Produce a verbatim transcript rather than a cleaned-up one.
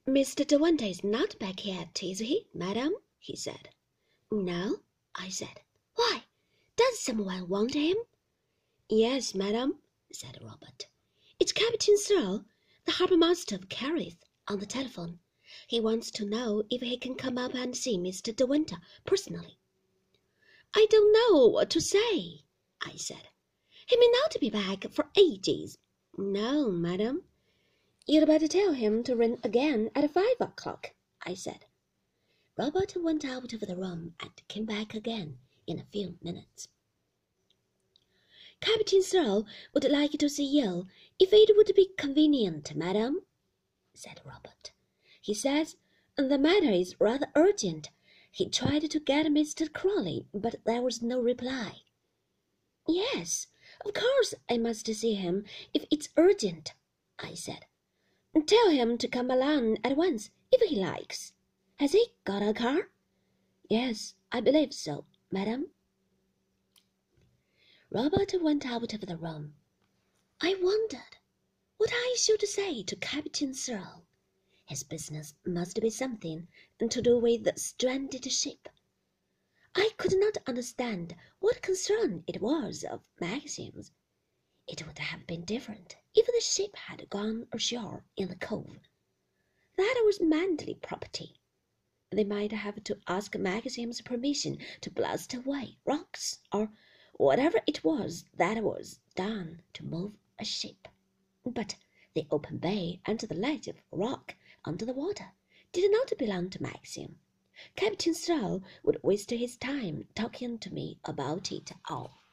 Mister De Winter is not back yet, is he, madam? He said. No, I said. Why? Does someone want him? Yes, madam, said Robert. It's Captain Searle, the harbour-master of Carrith, on the telephone. He wants to know if he can come up and see Mister De Winter personally. I don't know what to say, I said. He may not be back for ages. No, madam. You'd better tell him to ring again at five o'clock, I said. Robert went out of the room and came back again in a few minutes. Captain Searle would like to see you, if it would be convenient, madam, said Robert. He says the matter is rather urgent. He tried to get Mister Crawley, but there was no reply. Yes, of course I must see him if it's urgent, I said. Tell him to come along at once if he likes. Has he got a car? Yes, I believe so, madam. Robert went out of the room. I wondered what I should say to Captain Searle. His business must be something to do with the stranded ship. I could not understand what concern it was of Maxim's. It would have been different if the ship had gone ashore in the cove. That was Manderley property. They might have to ask Maxim's permission to blast away rocks, or whatever it was that was done to move a ship. But the open bay and the ledge of rock under the water did not belong to Maxim. Captain Searle would waste his time talking to me about it all.